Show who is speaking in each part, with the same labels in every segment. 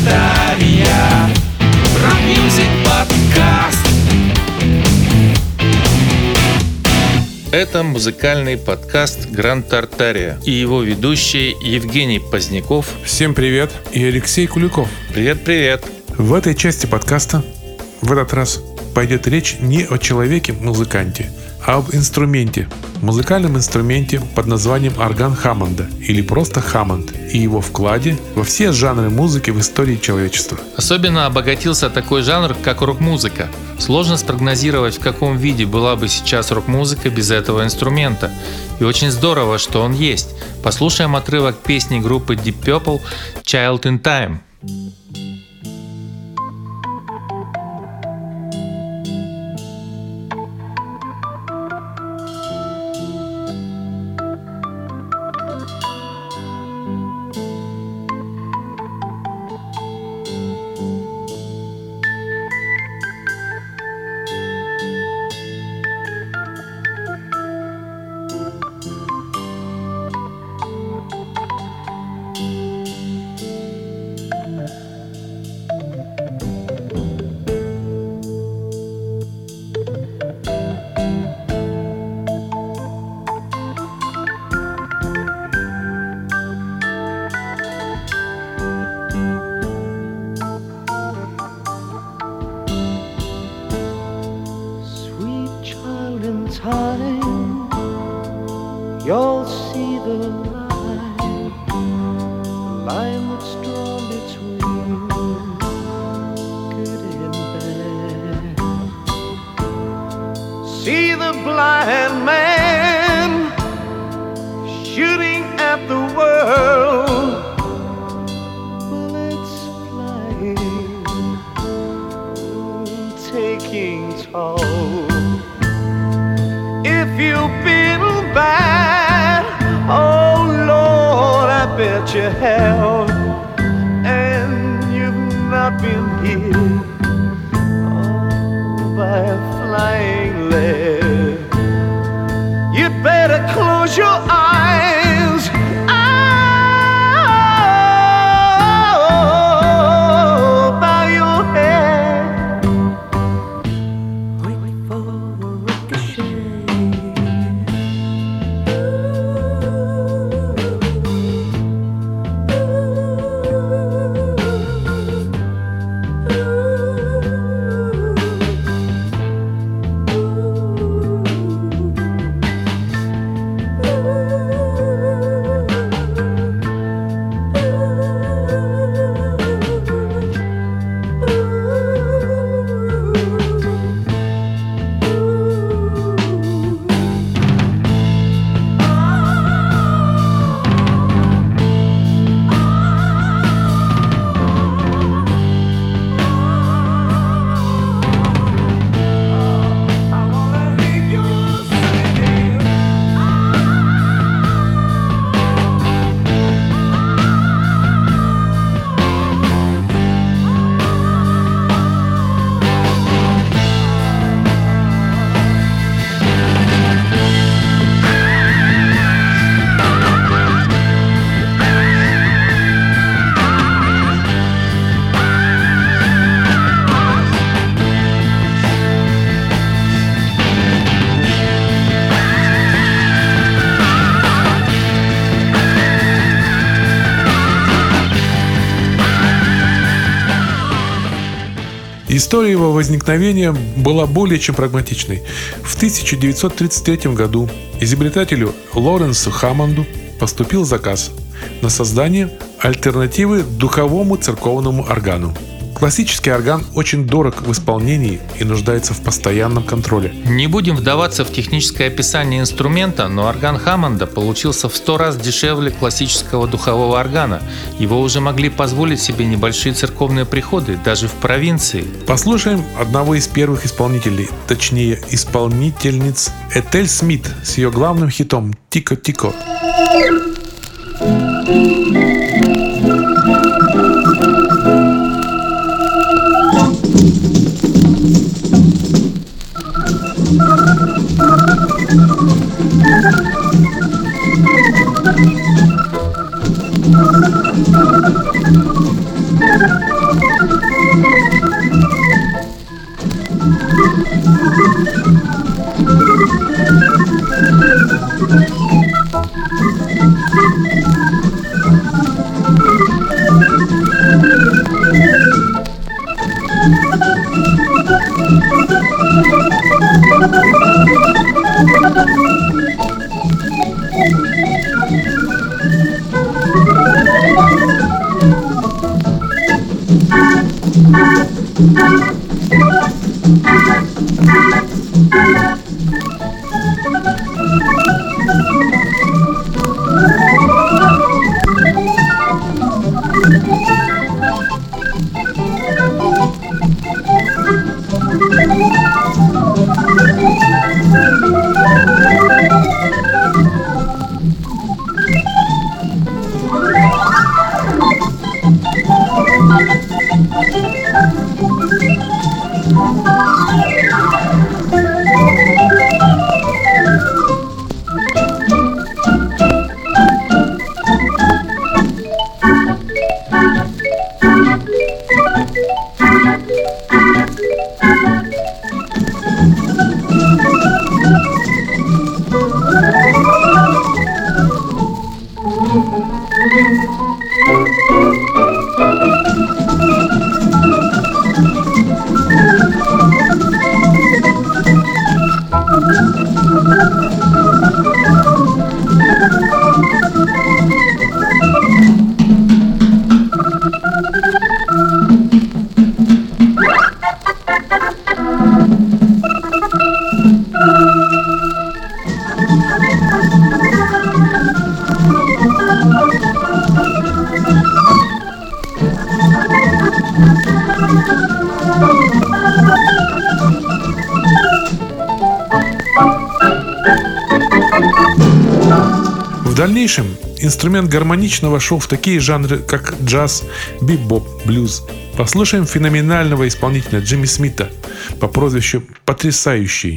Speaker 1: Тартария. Рок-мьюзик подкаст.
Speaker 2: Это музыкальный подкаст «Гранд Тартария» и его ведущие Евгений Поздняков.
Speaker 3: Всем привет, и Алексей Куликов.
Speaker 2: Привет-привет.
Speaker 3: В этой части подкаста в этот раз пойдет речь не о человеке-музыканте, а об инструменте, музыкальном инструменте под названием орган Хаммонда или просто Хаммонд и его вкладе во все жанры музыки в истории человечества.
Speaker 2: Особенно обогатился такой жанр, как рок-музыка. Сложно спрогнозировать, в каком виде была бы сейчас рок-музыка без этого инструмента. И очень здорово, что он есть. Послушаем отрывок песни группы Deep Purple «Child in Time».
Speaker 4: Time, you'll see the line that's drawn between good and bad. See the blind man shooting at the world, bullets flying, taking toll. If you've been bad, oh Lord, I bet you have, and you've not been hit by a flying lead. You'd better close your eyes. Oh, bow your head. Wait for the ricochet.
Speaker 3: История его возникновения была более чем прагматичной. В 1933 году изобретателю Лоренсу Хаммонду поступил заказ на создание альтернативы духовому церковному органу. Классический орган очень дорог в исполнении и нуждается в постоянном контроле.
Speaker 2: Не будем вдаваться в техническое описание инструмента, но орган Хаммонда получился в 100 раз дешевле классического духового органа. Его уже могли позволить себе небольшие церковные приходы, даже в провинции.
Speaker 3: Послушаем одного из первых исполнителей, точнее исполнительниц, Этель Смит с ее главным хитом «Тико-тико». В дальнейшем инструмент гармонично вошел в такие жанры, как джаз, бибоп, блюз. Послушаем феноменального исполнителя Джимми Смита по прозвищу «Потрясающий».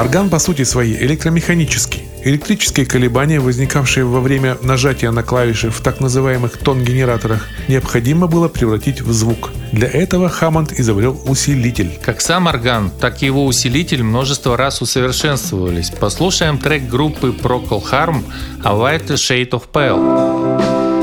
Speaker 3: Орган по сути своей электромеханический. Электрические колебания, возникавшие во время нажатия на клавиши в так называемых тон-генераторах, необходимо было превратить в звук. Для этого Хаммонд изобрел усилитель.
Speaker 2: Как сам орган, так и его усилитель множество раз усовершенствовались. Послушаем трек группы Procol Harum «A White Shade of Pale».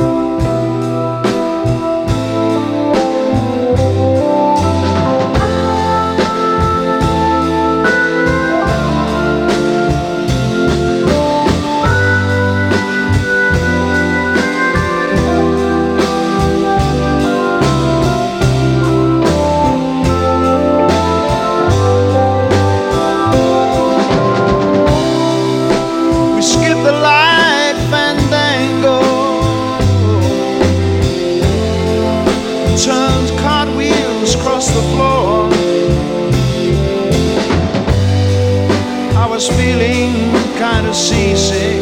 Speaker 4: We skip the light fandango, turned cartwheels across the floor. I was feeling kind of seasick.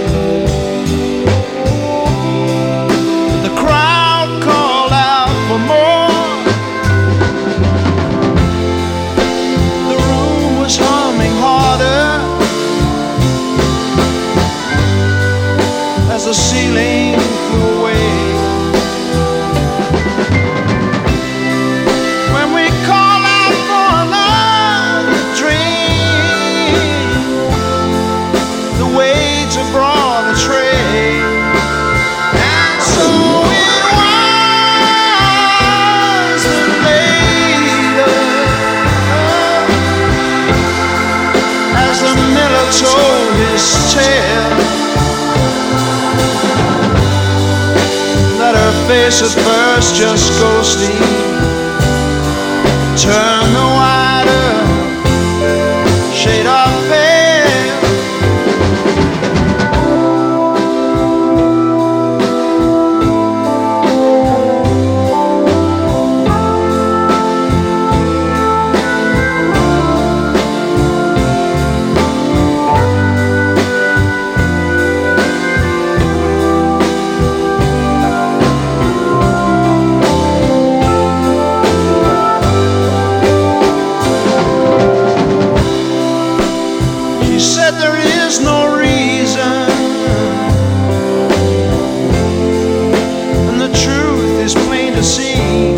Speaker 4: The crowd called out for more. The room was humming harder as the ceiling flew away. When we call out for another drink, the waiter brought a tray, and so it was that later, as the miller told his tale, that her face at first just ghostly turned the whiter shade of pale. She said there is no reason, and the truth is plain to see.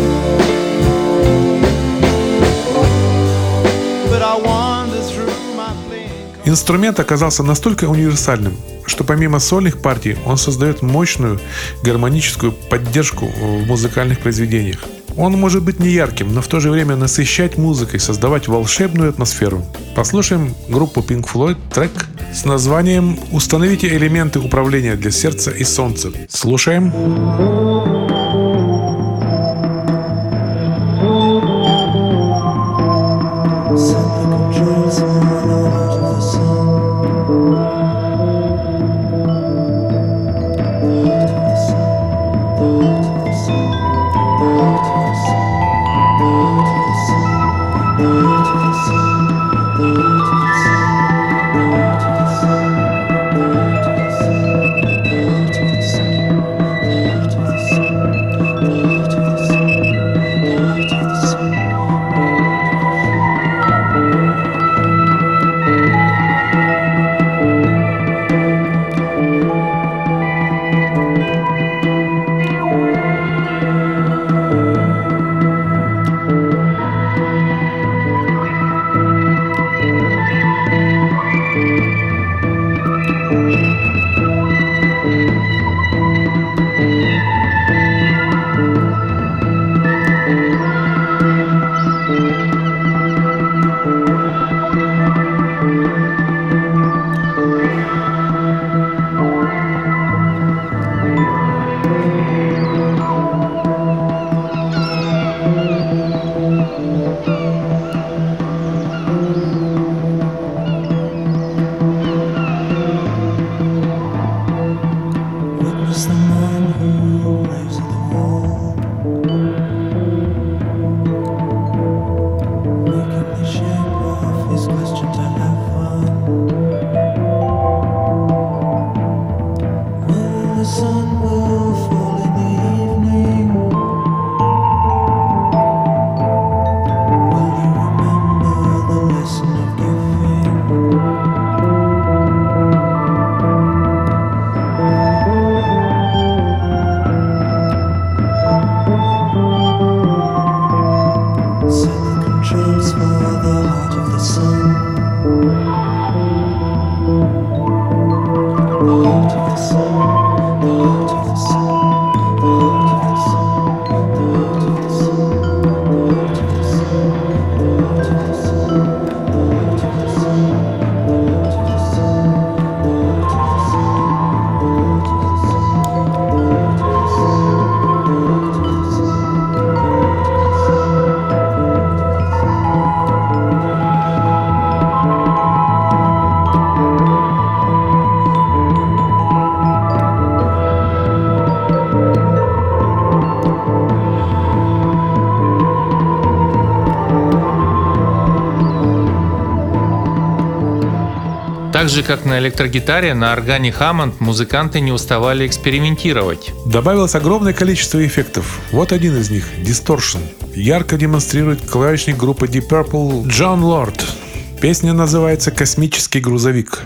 Speaker 4: But I wander through my playing.
Speaker 3: Инструмент оказался настолько универсальным, что помимо сольных партий он создает мощную гармоническую поддержку в музыкальных произведениях. Он может быть неярким, но в то же время насыщать музыкой, создавать волшебную атмосферу. Послушаем группу Pink Floyd, трек с названием «Установите элементы управления для сердца и солнца». Слушаем.
Speaker 5: Sun.
Speaker 2: Так же, как на электрогитаре, на органе Hammond музыканты не уставали экспериментировать.
Speaker 3: Добавилось огромное количество эффектов. Вот один из них – Distortion. Ярко демонстрирует клавишник группы Deep Purple Джон Лорд. Песня называется «Космический грузовик».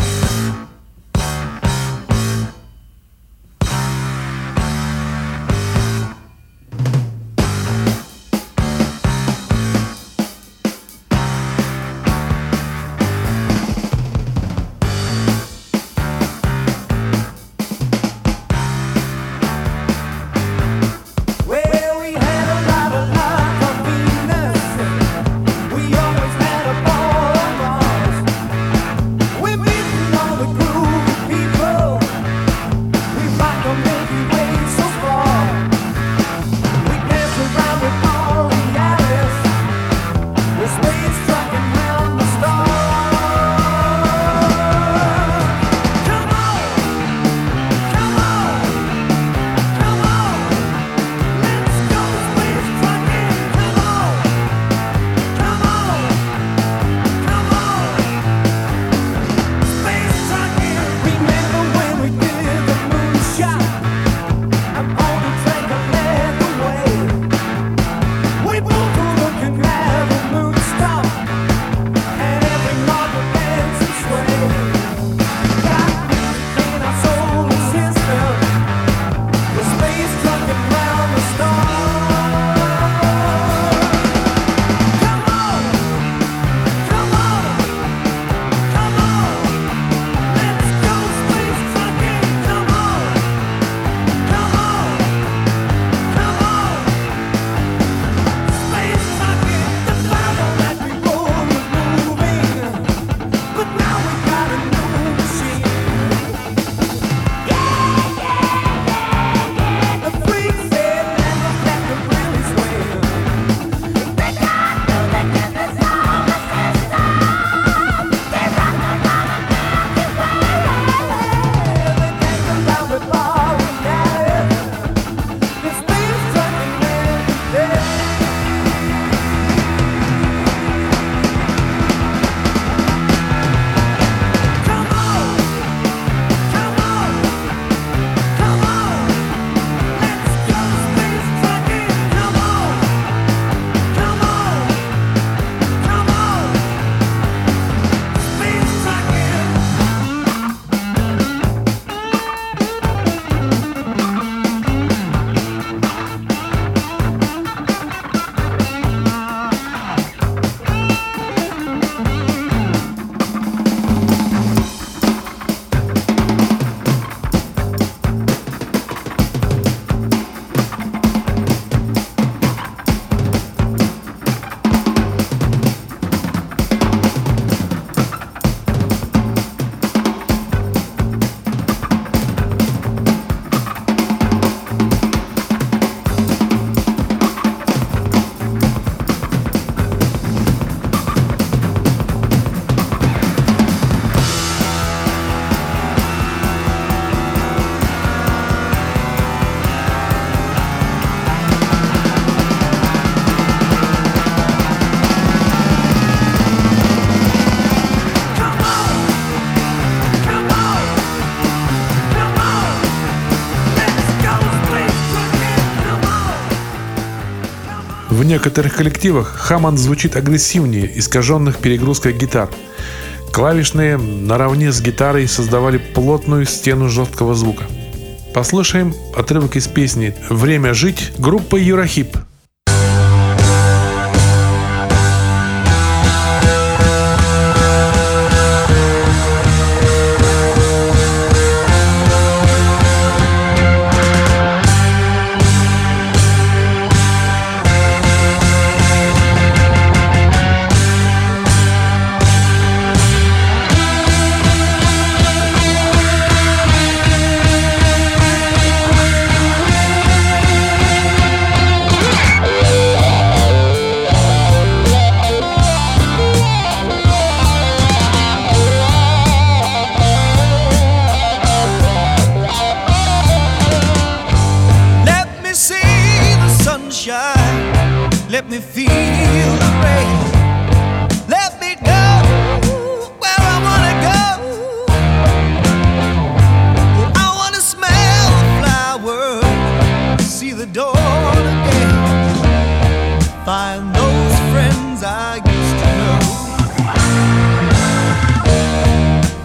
Speaker 3: В некоторых коллективах Hammond звучит агрессивнее искаженных перегрузкой гитар. Клавишные наравне с гитарой создавали плотную стену жесткого звука. Послушаем отрывок из песни «Время жить» группы Юрахип.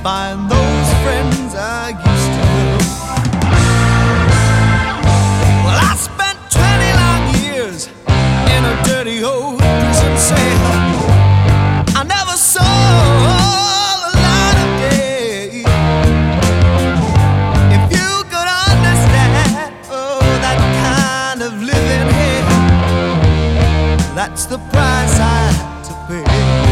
Speaker 4: find those friends I used to know. Well, I spent 20 long years in a dirty old prison cell. I never saw the light of day. If you could understand, oh, that kind of living here, that's the price I had to pay.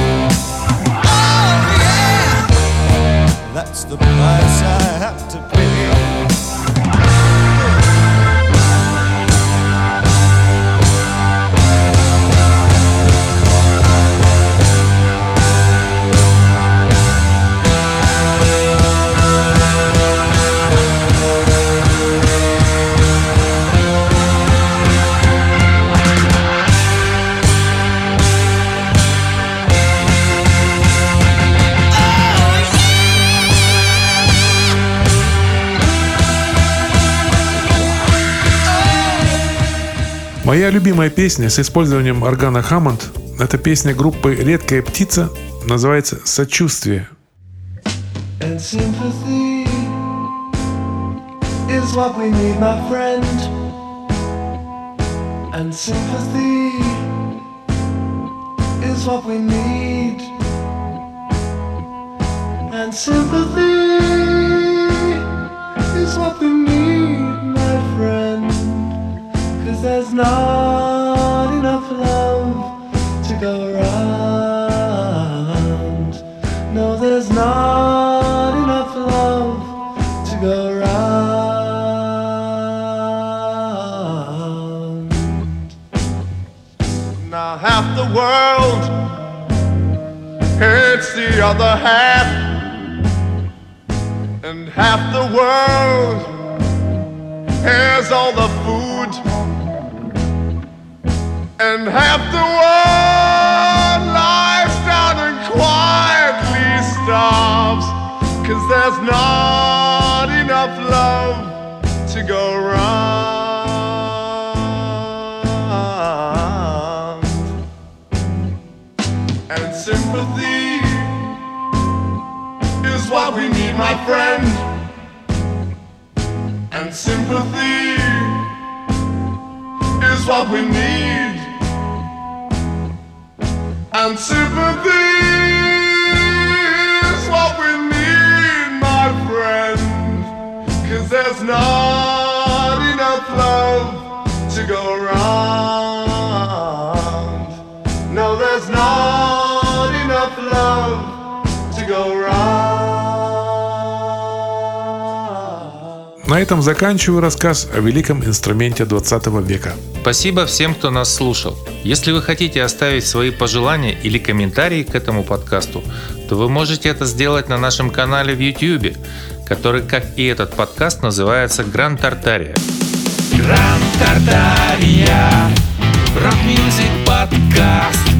Speaker 4: Oh yeah, that's the price I have to pay.
Speaker 3: Моя любимая песня с использованием органа Хаммонд – это песня группы «Редкая птица», называется «Сочувствие».
Speaker 5: And sympathy is what we need, my friend. And sympathy is what we need. And sympathy is what we need, my friend. 'Cause there's not enough love to go around. No, there's not enough love to go around.
Speaker 4: Now half the world hates the other half, and half the world has all the food, and half the world lies down and quietly starves, 'cause there's not enough love to go round. And sympathy is what we need, my friend. And sympathy is what we need. And sympathy is what we need, my friend. 'Cause there's not enough love to go around. No, there's not enough love to go around.
Speaker 3: На этом заканчиваю рассказ о великом инструменте 20 века.
Speaker 2: Спасибо всем, кто нас слушал. Если вы хотите оставить свои пожелания или комментарии к этому подкасту, то вы можете это сделать на нашем канале в YouTube, который, как и этот подкаст, называется Гранд Тартария.
Speaker 1: Гранд Тартария, рок-мьюзик подкаст.